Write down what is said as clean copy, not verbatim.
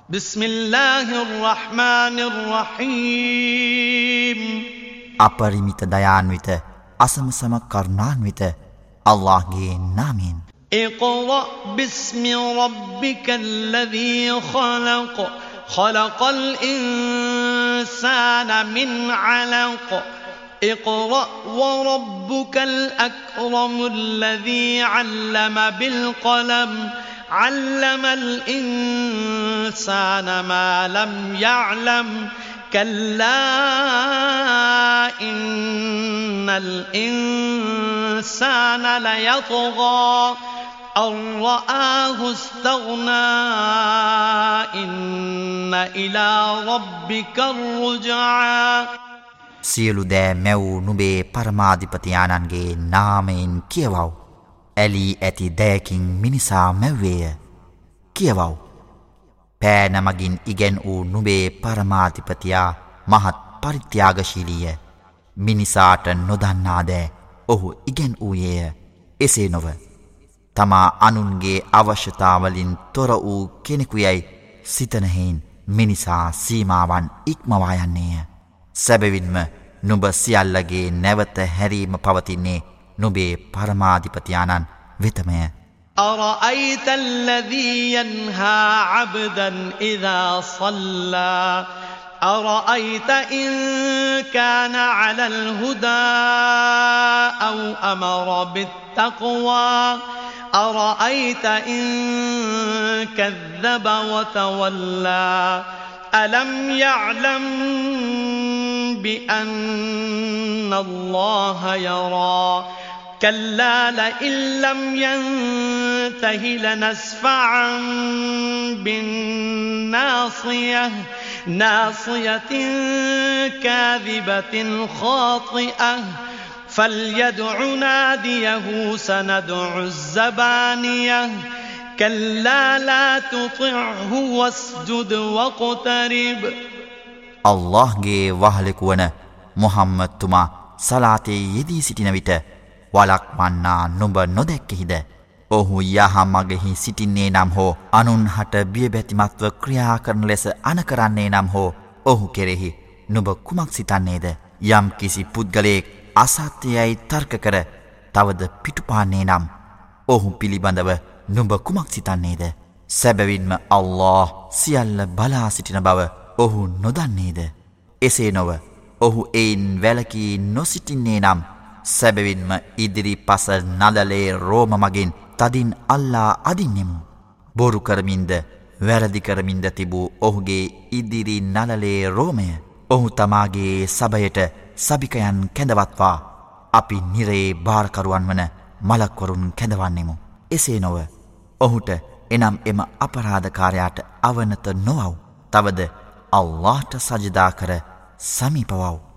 بسم الله الرحمن الرحيم අපරිමිත දයාන්විත අසමසම කරුණාන්විත අල්ලාහ්ගේ නාමයෙන් اقرأ باسم ربك الذي خلق خلق الإنسان من علق اقرأ وربك الأكرم الذي علم بالقلم علم الإنسان ما لم يعلم كلا إن الإنسان ليطغى أن رآه استغنى إن إلى ربك الرجعى සියලු දෑ මැව් නුඹේ පරමාධිපතියාණන්ගේ නාමයෙන් කියවව්. ඇලී ඇති දෑකින් මිනිසා මැව්වේය. කියවව්. පෑන මගින් ඉගැන් වූ නුඹේ පරමාධිපතියා මහත් පරිත්‍යාගශීලීය. මිනිසාට නොදන්නා දෑ ඔහු ඉගැන් වූයේය. එසේ නොව තමා අනුන්ගේ අවශ්‍යතාවලින් තොර වූ කෙනෙකුයයි සිතනහෙයින් මිනිසා සීමාවන් ඉක්මවා යන්නේය. සැබවින්ම නුඹ සියල්ලගේ නැවත හැරීම පවතින්නේ නුඹේ පරමාධිපතියාණන් වෙතමය. أرأيت الذي ينهى عبدا إذا صلى أرأيت إن كان على الهدى أو أمر بالتقوى أرأيت إن كذب وتولى ألم يعلم بأن الله يرى كلا لئن لم ينته لنسفعا بالناصية ناصية كاذبة خاطئة فليدع ناديه سندع الزبانية كلا لا تطعه واسجد واقترب අල්ලාහ්ගේ වහලෙකු වන මුහම්මද් තුමා සලාතේ යෙදී සිටින විට වළක්වන්නා නුඹ නොදැක්කෙහිද? ඔහු යහමගෙහි සිටින්නේ නම් හෝ අනුන්හට බියබැතිමත්ව ක්‍රියා කරන ලෙස අනකරන්නේ නම් හෝ ඔහු කෙරෙහි නුඹ කුමක් සිතන්නේද? යම් කිසි පුද්ගලයෙක් අසත්‍යයයි තර්ක කර තවද පිටුපාන්නේ නම් ඔහු පිළිබඳව නුඹ කුමක් සිතන්නේද? සැබවින්ම අල්ලාහ් සියල්ල බලා සිටින බව ඔහු නොදන්නේද? එසේ නොව ඔහු එයින් වැළකී නොසිටින්නේ නම් සැබවින්ම ඉදිරි පස නදලේ රෝම මගින් තදින් අල්ලා අදින්නෙමු. බොරු කරමින්ද වැරදි කරමින්ද තිබූ ඔහුගේ ඉදිරි නලලේ රෝමය ඔහු තමාගේ සබයට සබිකයන් කැඳවත්වා අපි නිරේ භාරකරුවන් වන මලක්වරුන් කැඳවන්නෙමු. එසේ නොව ඔහුට එනම් එම අපරාධකාරයාට අවනත නොවව්. තවද අල්ලාහ්ට සජදා කර සමීපවව්.